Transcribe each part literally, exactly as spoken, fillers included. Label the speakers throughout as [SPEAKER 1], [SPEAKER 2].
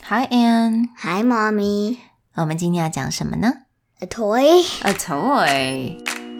[SPEAKER 1] Hi Anne.
[SPEAKER 2] Hi Mommy.
[SPEAKER 1] 我们今天要讲什么呢？
[SPEAKER 2] A toy.
[SPEAKER 1] A toy.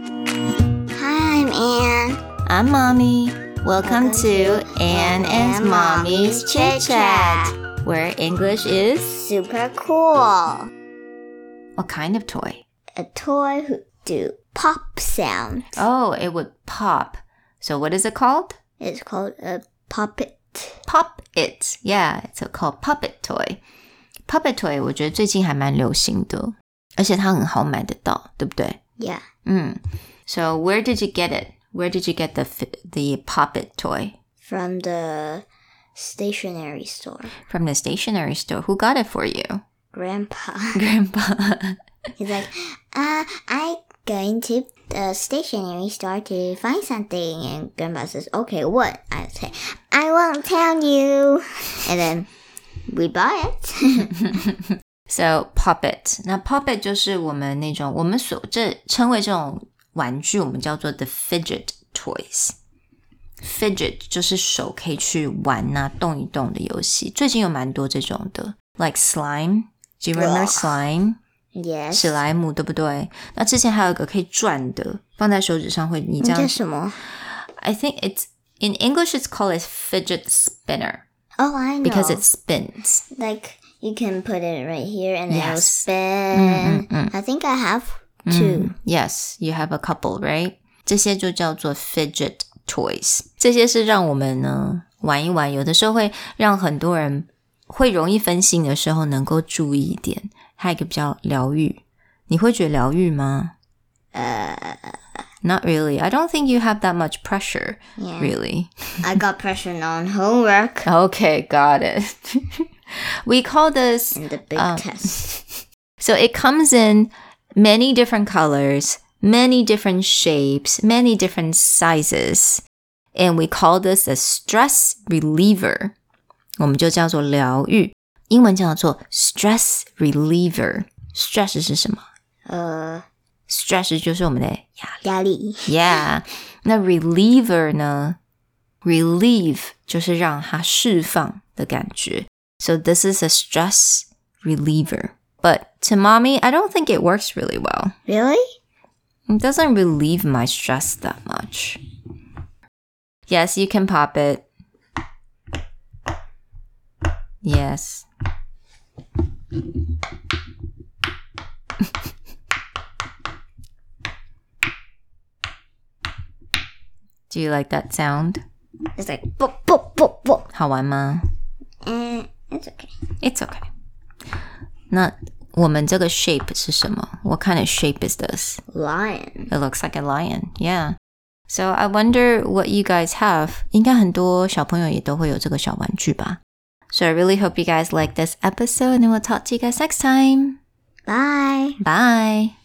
[SPEAKER 2] Hi, I'm Anne.
[SPEAKER 1] I'm Mommy. Welcome,
[SPEAKER 2] Welcome
[SPEAKER 1] to
[SPEAKER 2] to
[SPEAKER 1] Anne
[SPEAKER 2] Anne
[SPEAKER 1] and
[SPEAKER 2] and
[SPEAKER 1] Mommy's
[SPEAKER 2] Mommy's
[SPEAKER 1] Chit
[SPEAKER 2] Chit
[SPEAKER 1] Chat,
[SPEAKER 2] Chat.
[SPEAKER 1] where English is...
[SPEAKER 2] Super cool.
[SPEAKER 1] What kind of toy?
[SPEAKER 2] A toy who do pop sounds.
[SPEAKER 1] Oh, it would pop. So what is it called?
[SPEAKER 2] It's called a puppet.
[SPEAKER 1] Pop it. Yeah, it's called puppet toy. Puppet toy 我觉得最近还蛮流行的，而且它很好买得到，对不对？
[SPEAKER 2] Yeah.
[SPEAKER 1] 嗯 So where did you get it? Where did you get the the puppet toy?
[SPEAKER 2] From the stationery store.
[SPEAKER 1] From the stationery store. Who got it for you?
[SPEAKER 2] Grandpa.
[SPEAKER 1] Grandpa.
[SPEAKER 2] He's like, uh, I'm going to the stationery store to find something. And Grandpa says, okay, what? I say, I won't tell you. And then we buy it.
[SPEAKER 1] So puppet. 那 puppet 就是我们那种我们所这称为这种玩具，我们叫做 the fidget toys. Fidget 就是手可以去玩啊，动一动的游戏。最近有蛮多这种的 ，like slime. Do you remember slime?
[SPEAKER 2] Yes.
[SPEAKER 1] 史莱姆对不对？那之前还有一个可以转的，放在手指上会你这样。
[SPEAKER 2] 这什么？
[SPEAKER 1] I think it's in English it's called a fidget spinner.
[SPEAKER 2] Oh, I know.
[SPEAKER 1] Because it spins.
[SPEAKER 2] Like you can put it right here and it'll
[SPEAKER 1] Yes.
[SPEAKER 2] spin.
[SPEAKER 1] Mm, mm, mm.
[SPEAKER 2] I think I have two.
[SPEAKER 1] Mm, yes, you have a couple, right? 这些就叫做 fidget toys. 这些是让我们呢玩一玩，有的时候会让很多人会容易分心的时候能够注意一点。还有一个比较疗愈，你会觉得疗愈吗？
[SPEAKER 2] Uh,
[SPEAKER 1] Not really. I don't think you have that much pressure,
[SPEAKER 2] yeah.
[SPEAKER 1] really.
[SPEAKER 2] I got pressure on homework.
[SPEAKER 1] Okay, got it. We call this...
[SPEAKER 2] And the big
[SPEAKER 1] um,
[SPEAKER 2] test.
[SPEAKER 1] So it comes in many different colors, many different shapes, many different sizes. And we call this a stress reliever. 我们就叫做疗愈。英文叫做 stress reliever. Stress 是什么？
[SPEAKER 2] 呃
[SPEAKER 1] Stress 就是我们的压力。
[SPEAKER 2] 压力。
[SPEAKER 1] Yeah. 那 reliever 呢？ Relieve 就是让它释放的感觉。So this is a stress reliever. But to mommy, I don't think it works really well.
[SPEAKER 2] Really?
[SPEAKER 1] It doesn't relieve my stress that much. Yes, you can pop it. Yes. Do you like that sound?
[SPEAKER 2] It's like boop, boop, boop, boop.
[SPEAKER 1] 好玩吗？
[SPEAKER 2] And it's okay.
[SPEAKER 1] It's okay. 那我们这个 shape 是什么？ What kind of shape is this?
[SPEAKER 2] Lion.
[SPEAKER 1] It looks like a lion. Yeah. So I wonder what you guys have. 应该很多小朋友也都会有这个小玩具吧。So I really hope you guys like this episode and we'll talk to you guys next time.
[SPEAKER 2] Bye.
[SPEAKER 1] Bye.